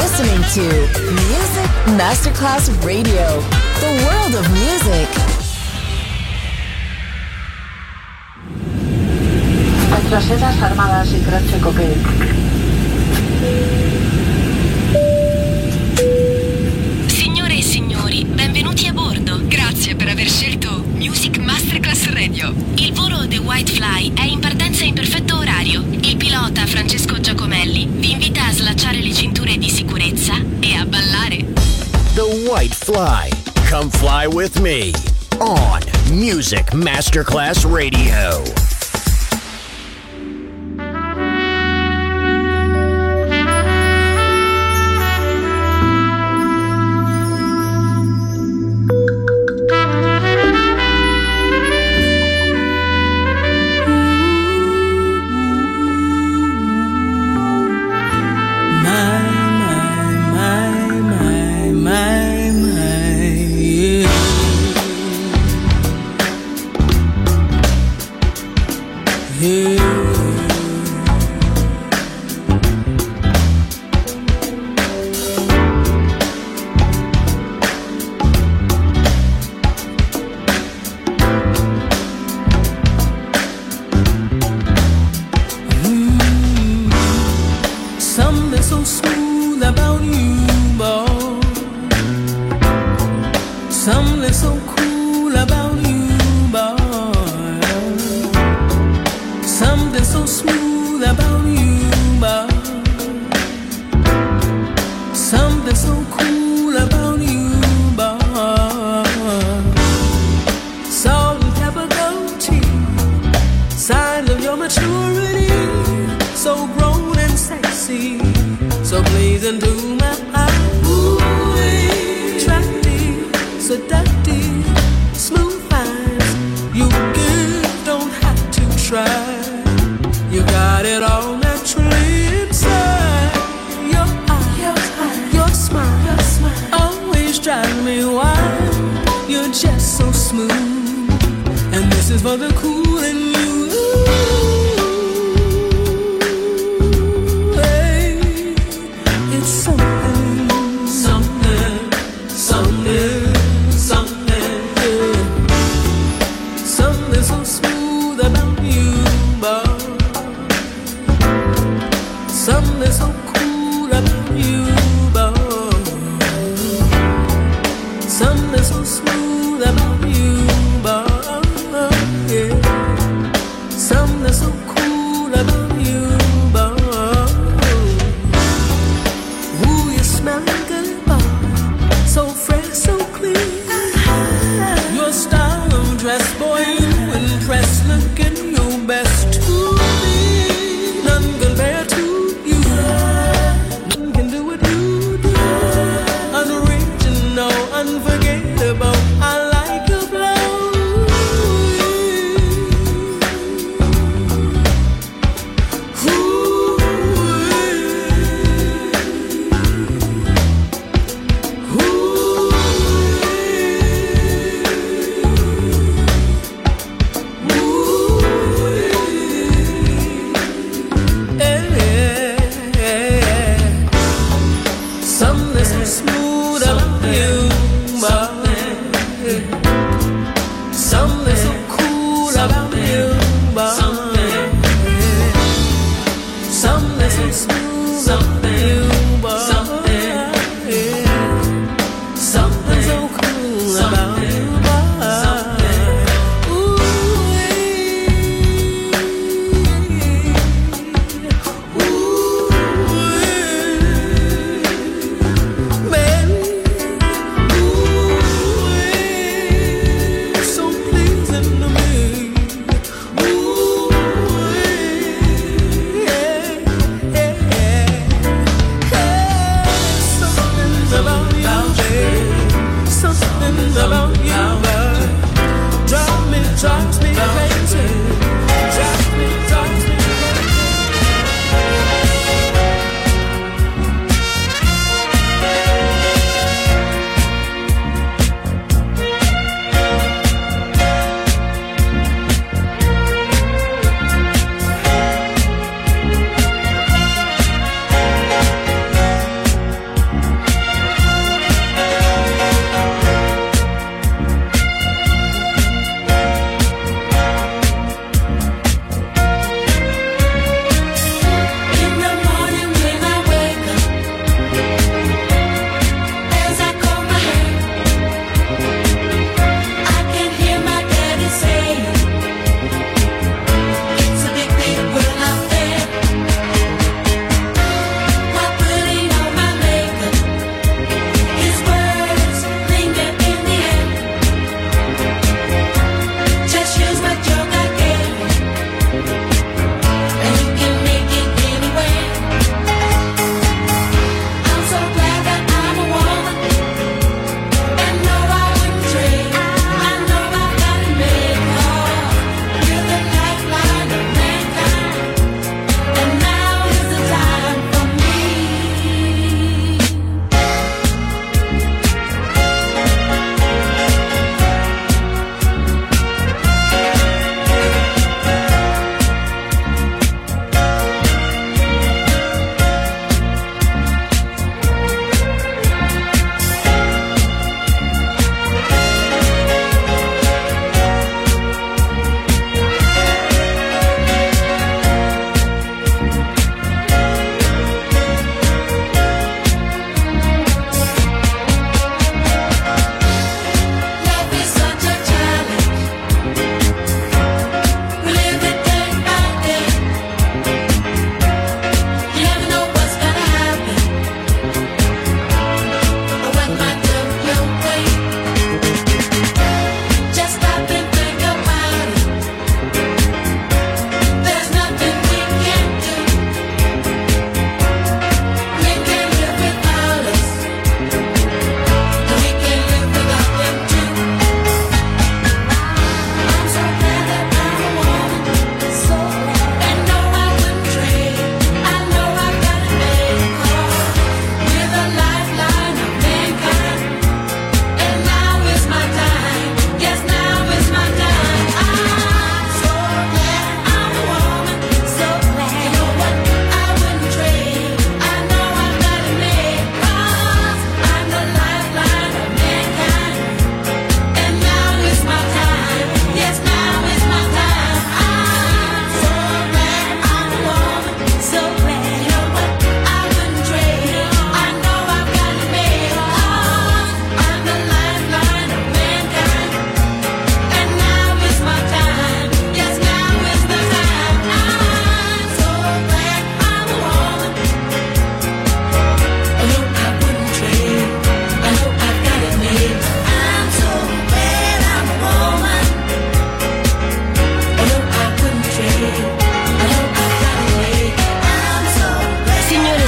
listening to Music Masterclass Radio, the world of music. Retrocedas armadas y croce coque. Signore e signori, benvenuti a bordo. Grazie per aver scelto Music Masterclass Radio. Il volo The White Fly è in partenza in perfetto orario. Il pilota Francesco Giacomelli vi invita a slacciare le cinture di sicurezza e a ballare. The White Fly. Come fly with me on Music Masterclass Radio.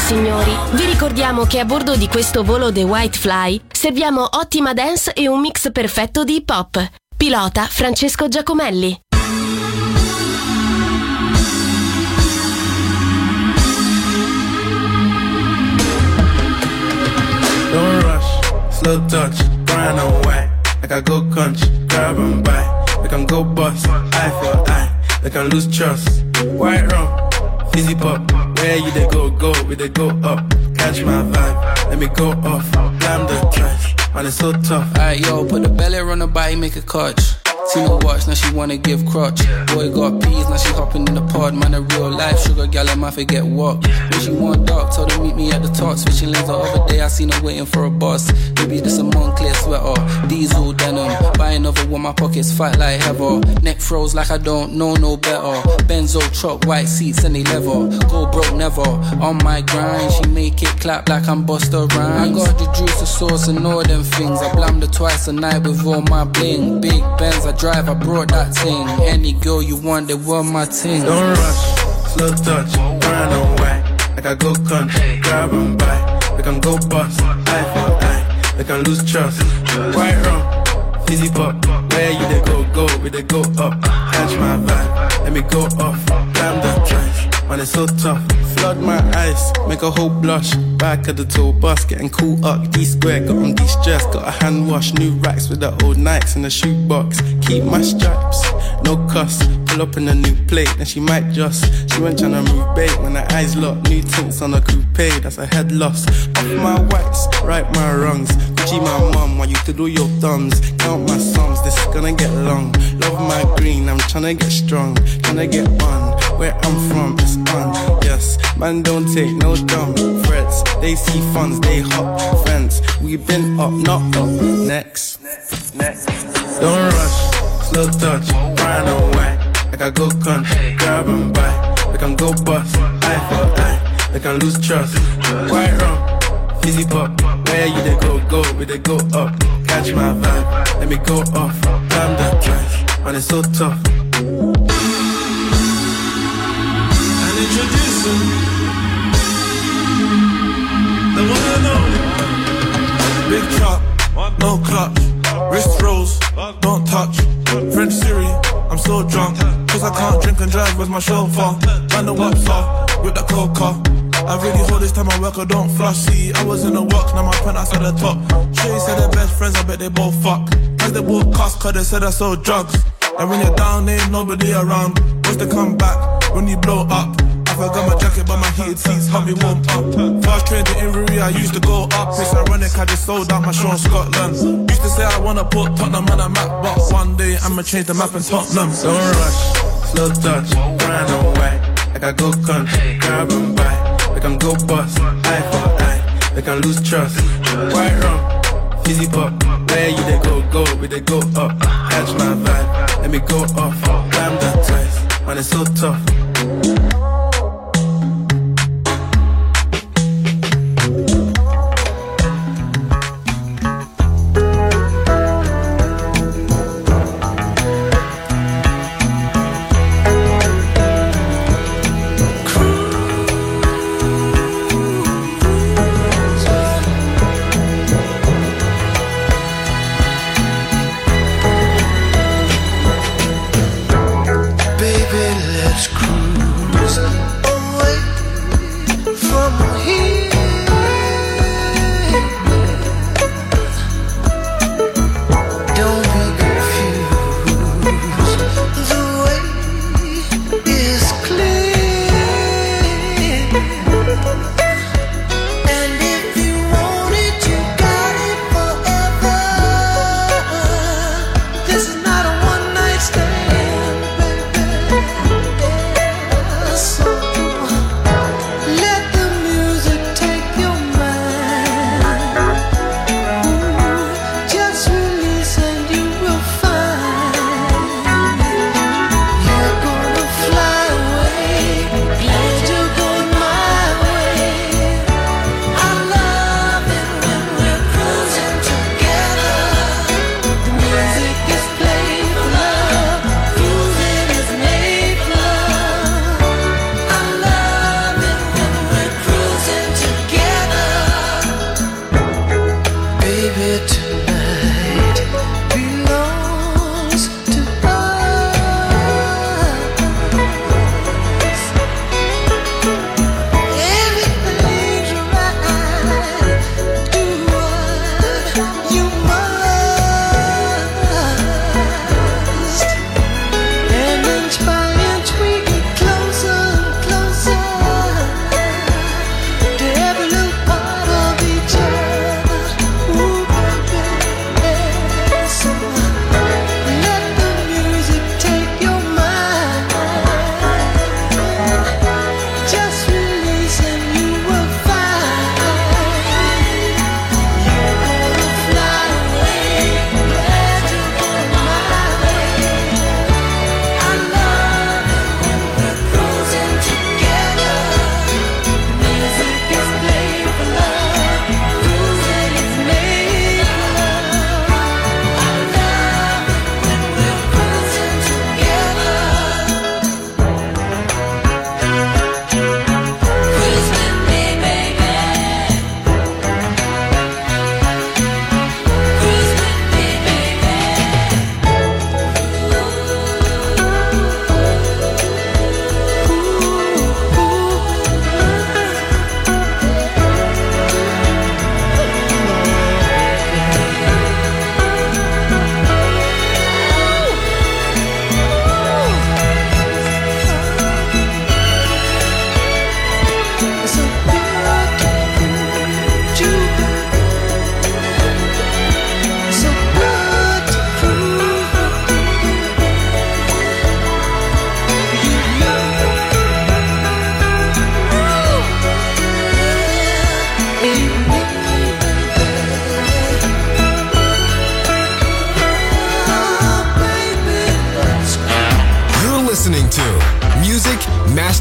signori, vi ricordiamo che a bordo di questo volo The White Fly serviamo ottima dance e un mix perfetto di hip hop. Pilota Francesco Giacomelli. Don't rush, slow touch, brown and white. Like I go country, grab and buy. We can go bust, eye for eye. They can lose trust. White rum, fizzy pop. Where you they go, we they go up. Catch my vibe, let me go off. Blam the trash, man it's so tough. Alright yo, put the belly on the body, make a catch. See no watch, now she wanna give crutch. Boy got peas, now she hopping in the pod. Man a real life sugar gal, I might forget what. When she want dark, told her meet me at the top. Switching lanes the other day, I seen her waiting for a bus. Maybe this a Moncler sweater, diesel denim. Buy another one, my pockets fat like heather. Neck froze like I don't know no better. Benzo truck, white seats and they leather. Go broke never, on my grind. She make it clap like I'm Busta Rhymes. I got the juice, the sauce and all them things. I blammed her twice a night with all my bling. Big Benz, I drive, I brought that thing. Any girl you want, they want my thing. Don't rush, slow touch, brown and white. Like I go country, grab and buy. We can go bust, eye for eye. They can lose trust. White rum, fizzy pop. Where you they go, we they go up. Catch my vibe, let me go off. Blam the trash, man it's so tough. Flood my eyes, make a whole blush. Back of the tour bus, getting cool up. D-square, got on de-stress. Got a hand wash, new racks with the old Nikes in the shoebox. Keep my stripes, no cuss. Pull up in a new plate, then she might just. She went tryna move bait when her eyes locked. New tints on a coupe, that's a head loss. Off my whites, right my wrongs. Gucci my mum, while you do your thumbs. Count my sums, this is gonna get long. Love my green, I'm tryna get strong. Tryna get on, where I'm from, it's on. Yes, man don't take no dumb threats. They see funds, they hot friends. We been up, not up. Next. Don't rush, slow touch, brown and white. Like I go country, grab and buy. They can go bust, eye for eye. They can lose trust. White rum, fizzy pop. Where you they go, we they go up. Catch my vibe, let me go off. Blam the trash, man it's so tough. And introducing the one and only Big Chop, no clutch. Wrist rolls, don't touch. French Siri, I'm so drunk. Cause I can't drink and drive with my chauffeur. Man the whops off, with the coca. I really hold this time I work, I don't flush. See, I was in the works, now my penthouse at the top. Shay said they're best friends, I bet they both fuck. As they both cuss, cause they said I sold drugs. And when you're down, ain't nobody around. What's the comeback when you blow up? I forgot my jacket, but my heated seats help me warm up. First train to Inverie, I used to go up. It's ironic, I just sold out my show in Scotland. Used to say I wanna put Tottenham on the map, but one day I'ma change the map in Tottenham. Don't rush, slow touch, brown and white. Like I go country, grab and buy. They can go bust, eye for eye. They can lose trust. White rum, fizzy pop. Where you they go, we they go up. Catch my vibe, let me go off. Blam the twice, man it's so tough.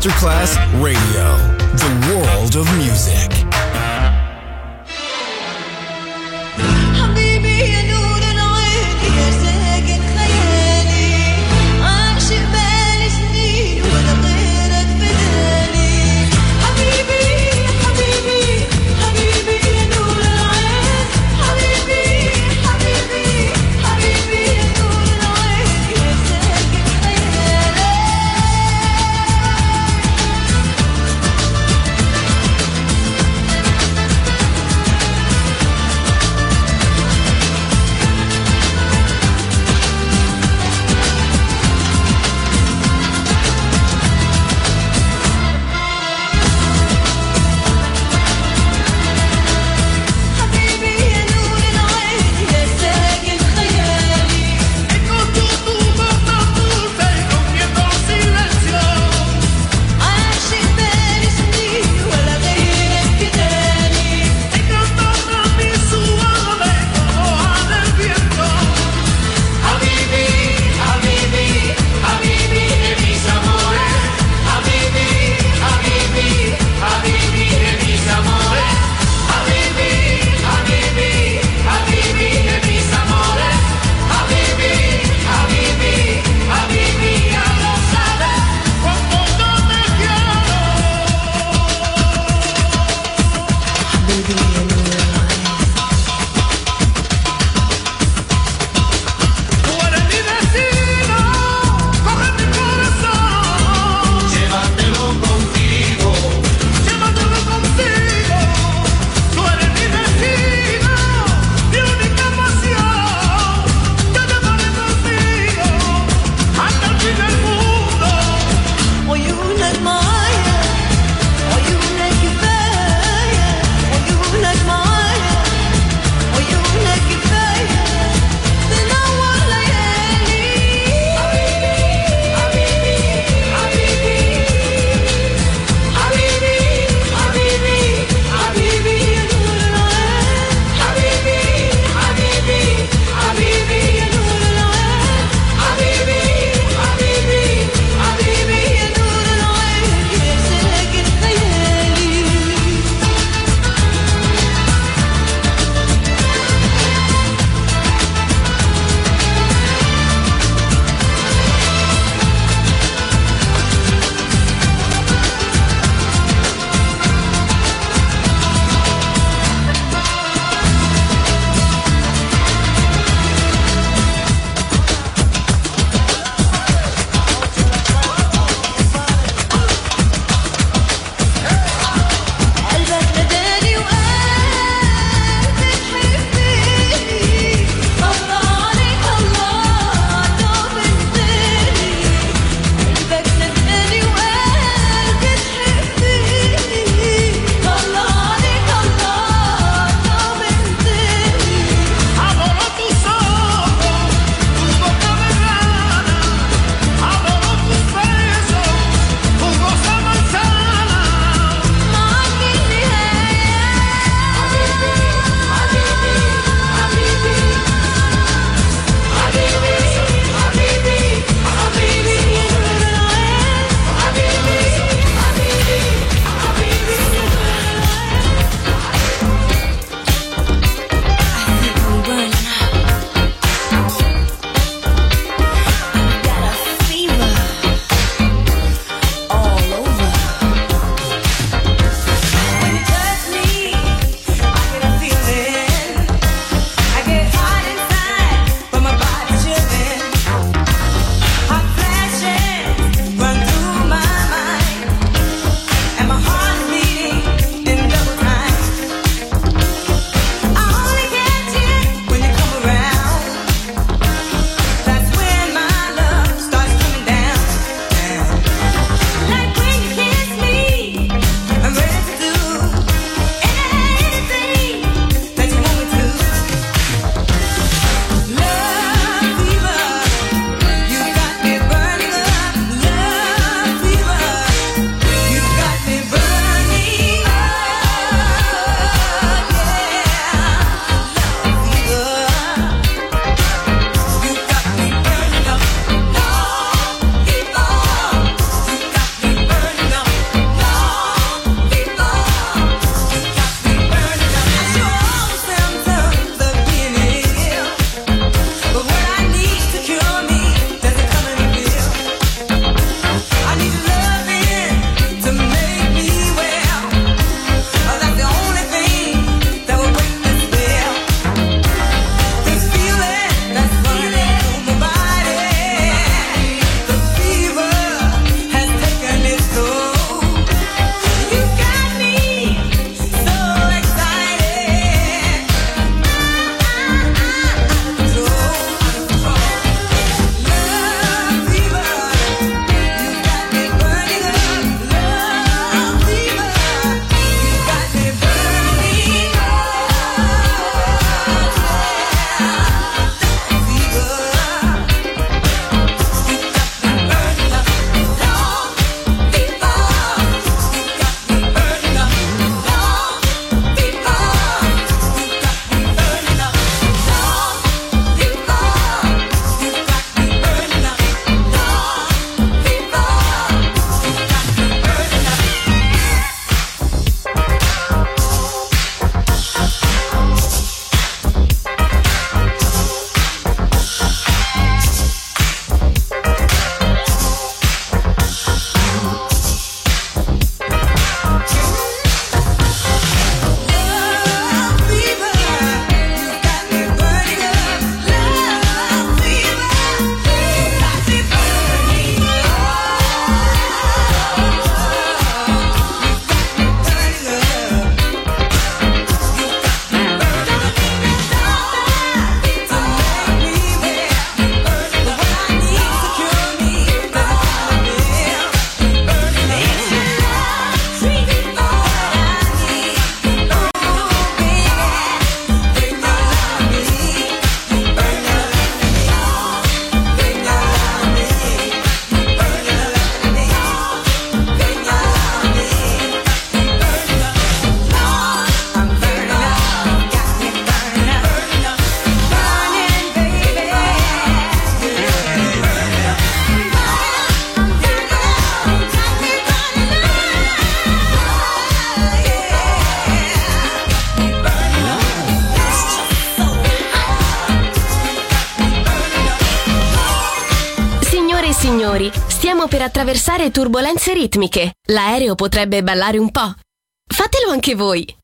Masterclass Radio, the world of music. Like signori, stiamo per attraversare turbolenze ritmiche. L'aereo potrebbe ballare un po'. Fatelo anche voi.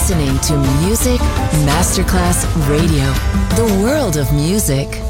listening to Music Masterclass Radio, the world of music.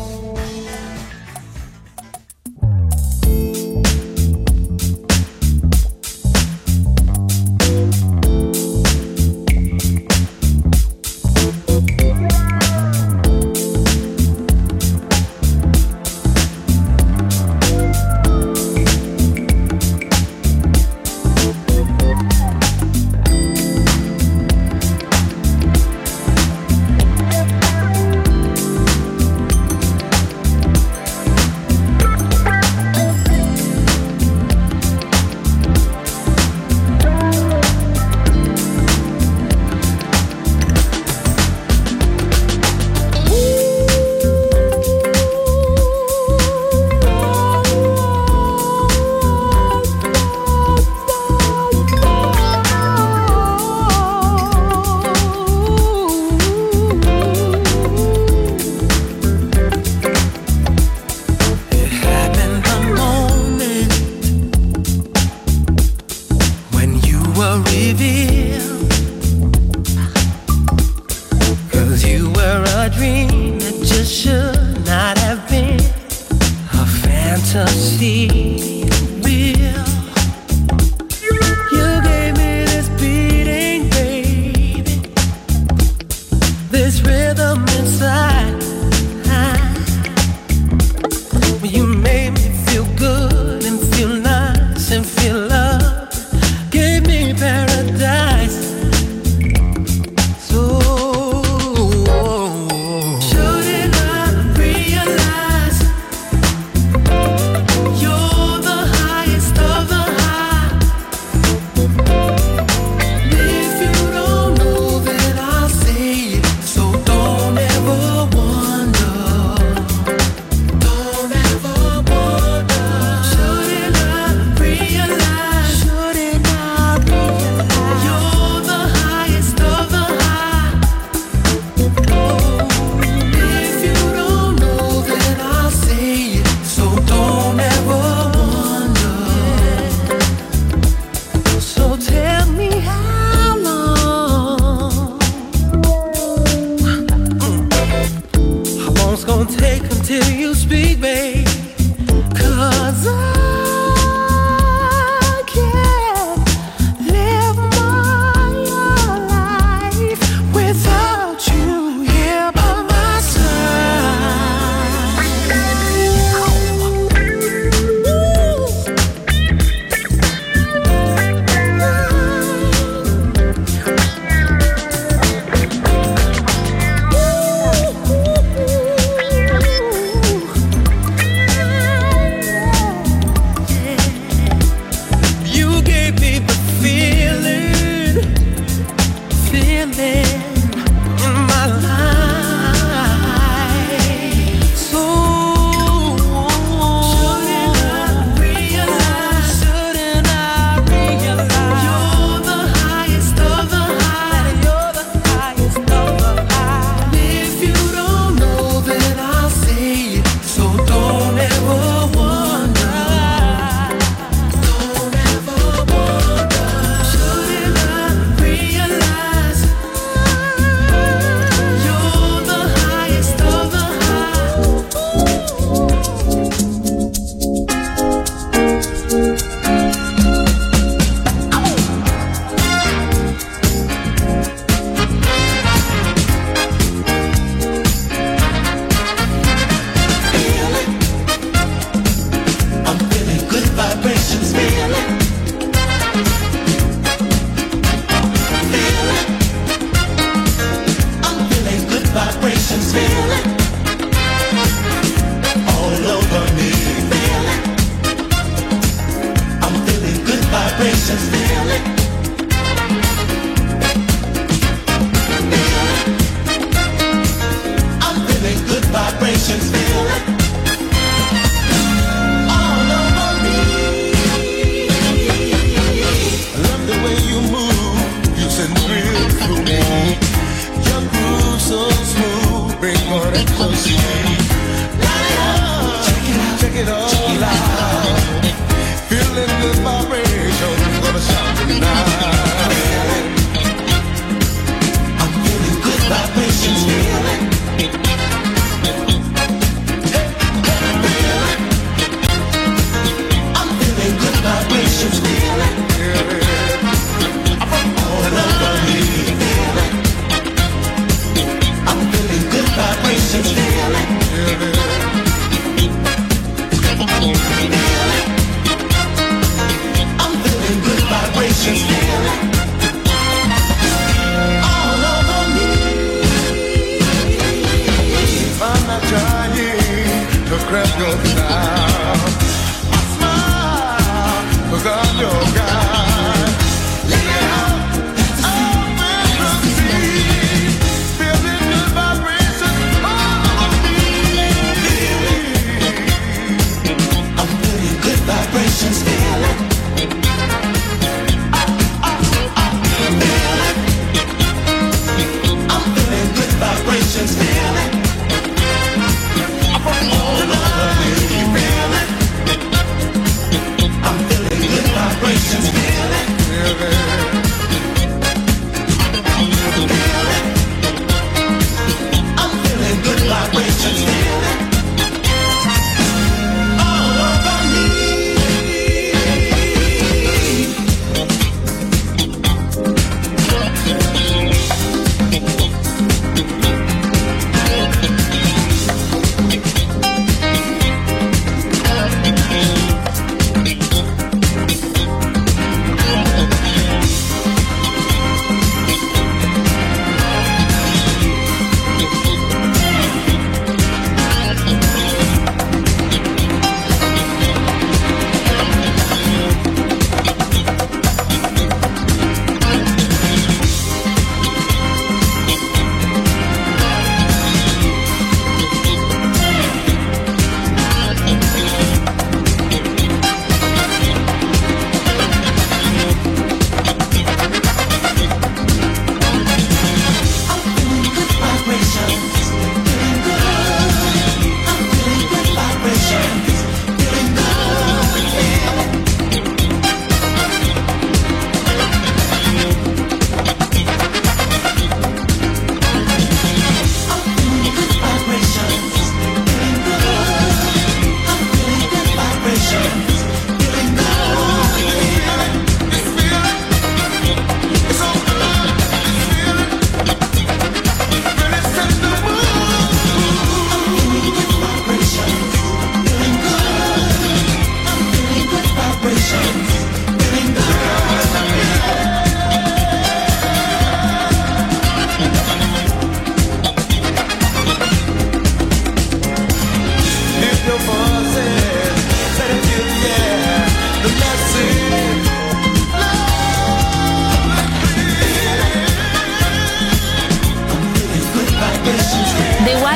You're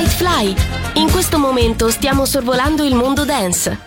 White Fly. In questo momento stiamo sorvolando il mondo dance.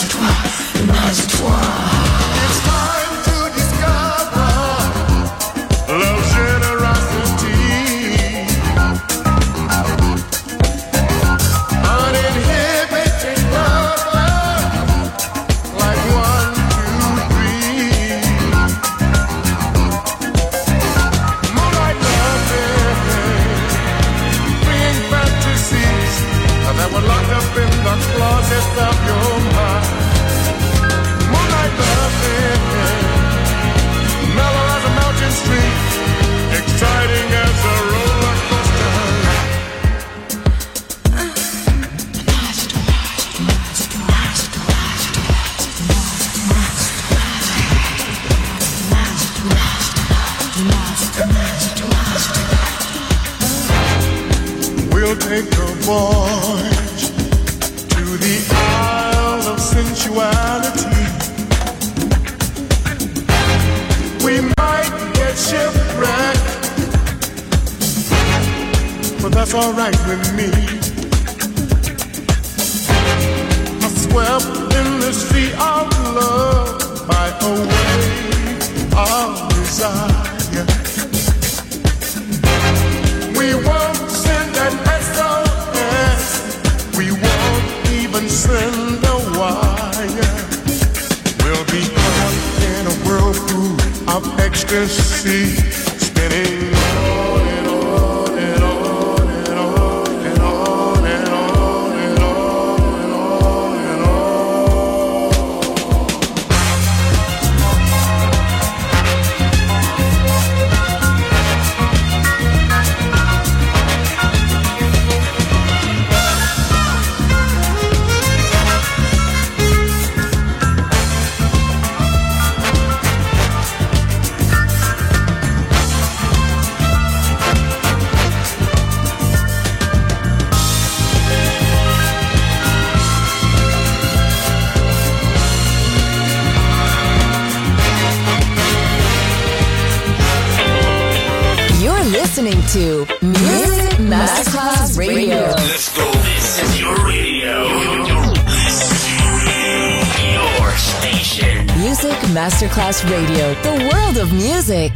We'll take a voyage to the Isle of Sensuality. We might get shipwrecked, but that's alright with me. I swept in the sea of love by a wave of desire. We won't send an SOS, we won't even send a wire. We'll be caught in a whirlpool of ecstasy, spinning on and on and on and on and on and on and on and on and on. Listening to Music Masterclass Radio. Let's go. This is your radio. Your station. Music Masterclass Radio. The world of music.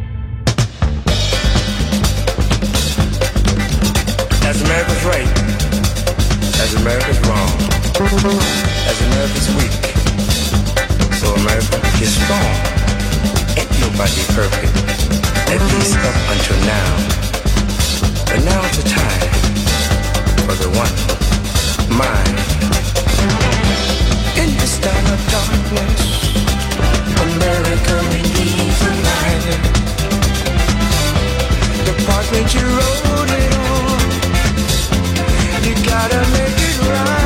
As America's right, as America's wrong, as America's weak, so America is strong. Ain't nobody perfect. At least up until now. But now's the time for the one mind. In this time of darkness, America needs a light. The part that you wrote it on, you gotta make it right.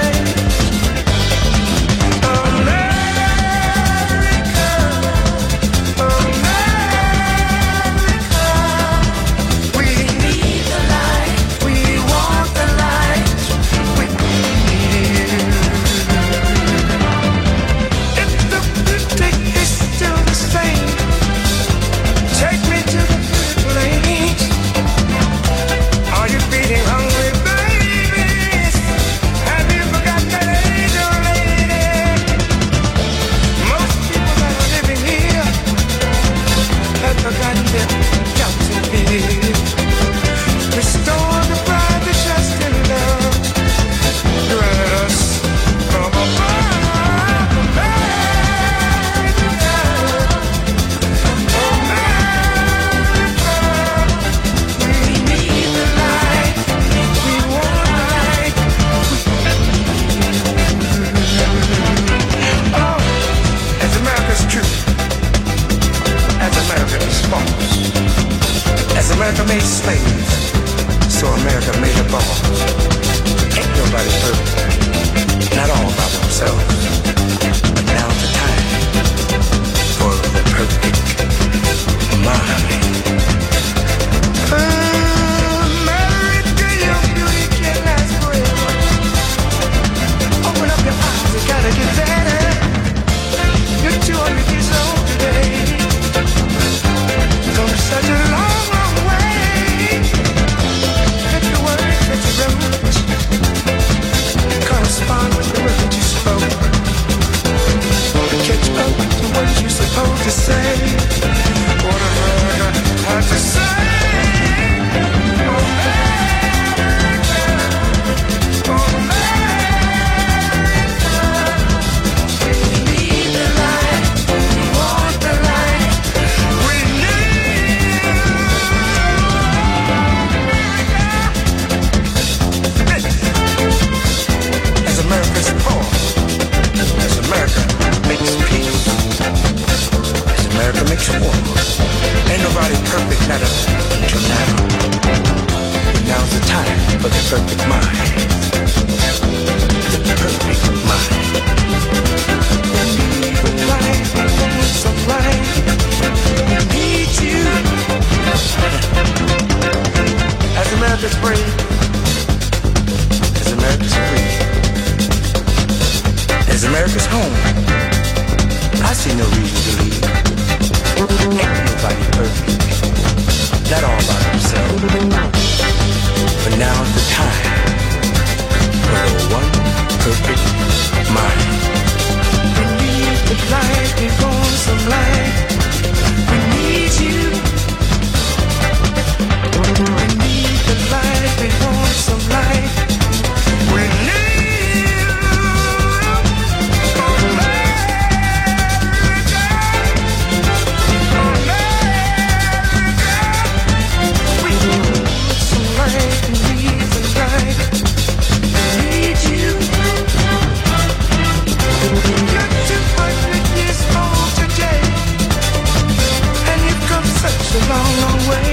America made slaves, so America made a boss. Ain't nobody perfect, not all by themselves. But now's the time for the perfect mind. America, your beauty can last forever. Open up your eyes, you gotta get better. You're 200 years old today. Come such a long way. supposed to say? What America had to say? America makes war. Ain't nobody perfect, not up until now. But now's the time for the perfect mind. The perfect mind. We need a light, we want some light. We need you. As America's brave, as America's free, as America's home, I see no reason to leave. Ain't nobody perfect, not all by themselves. But now's the time for the one perfect mind. We need the light, we want some light. We need you. We need the light, we want some light. We need a long, long way.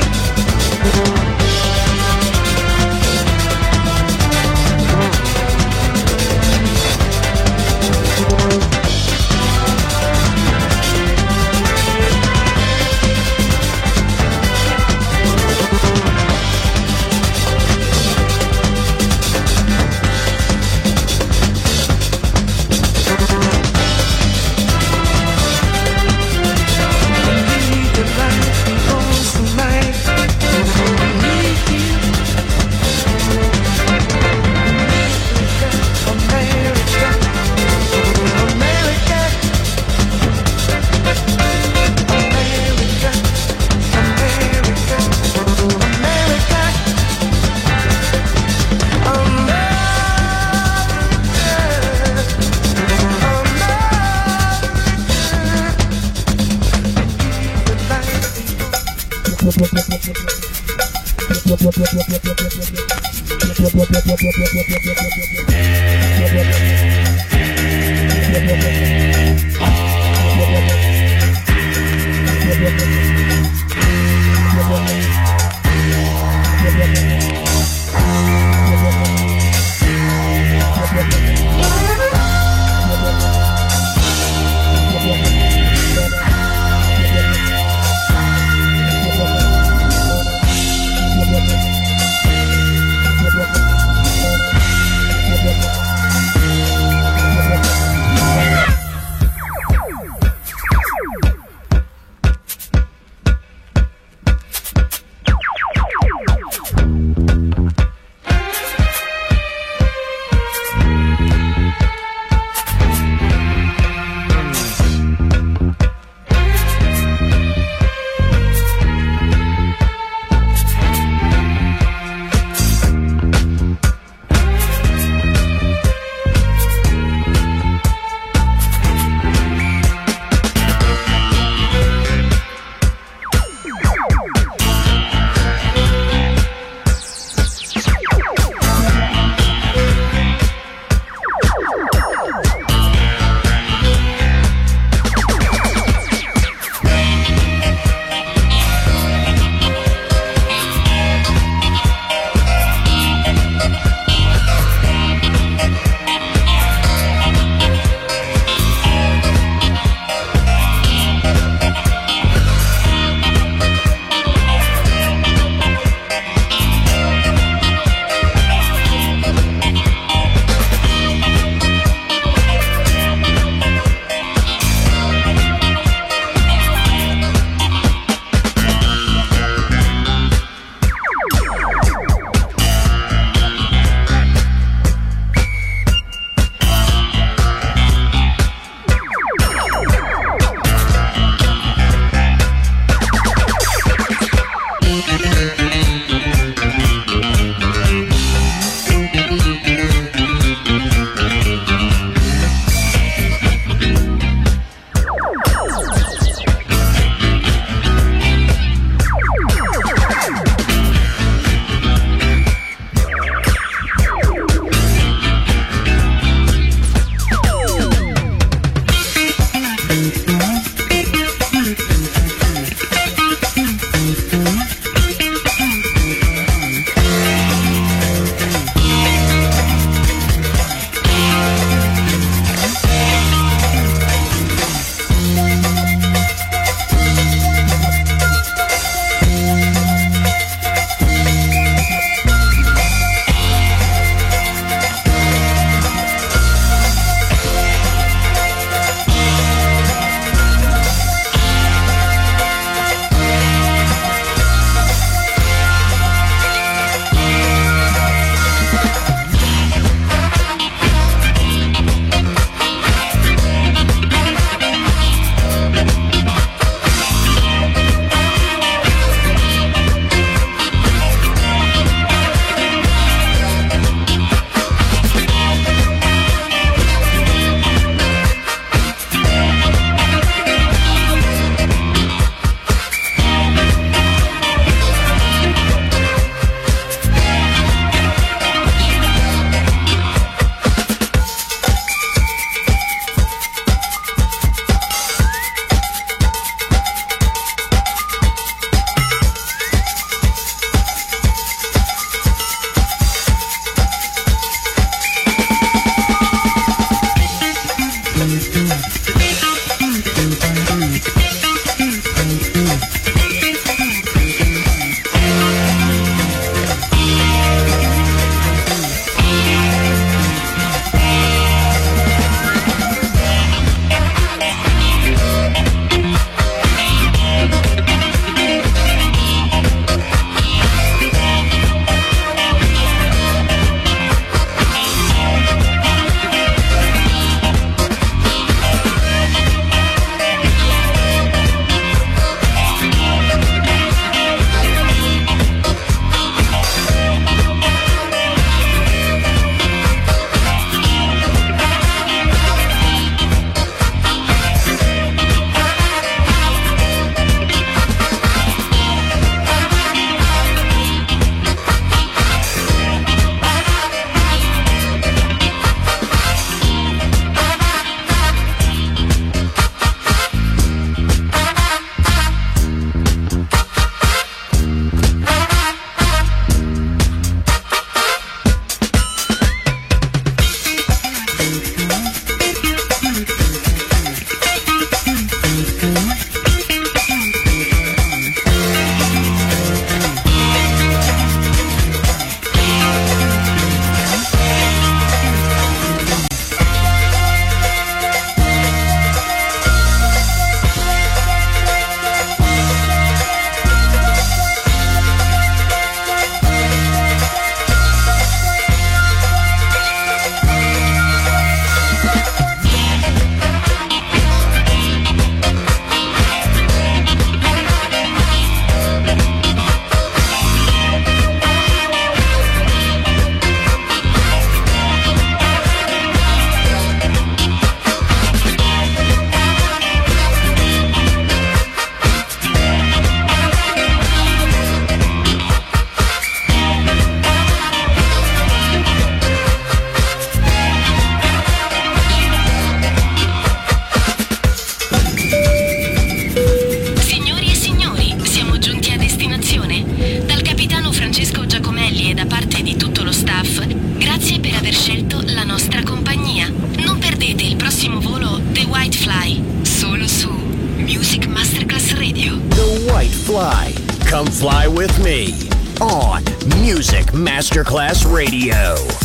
Fly with me on Music Masterclass Radio.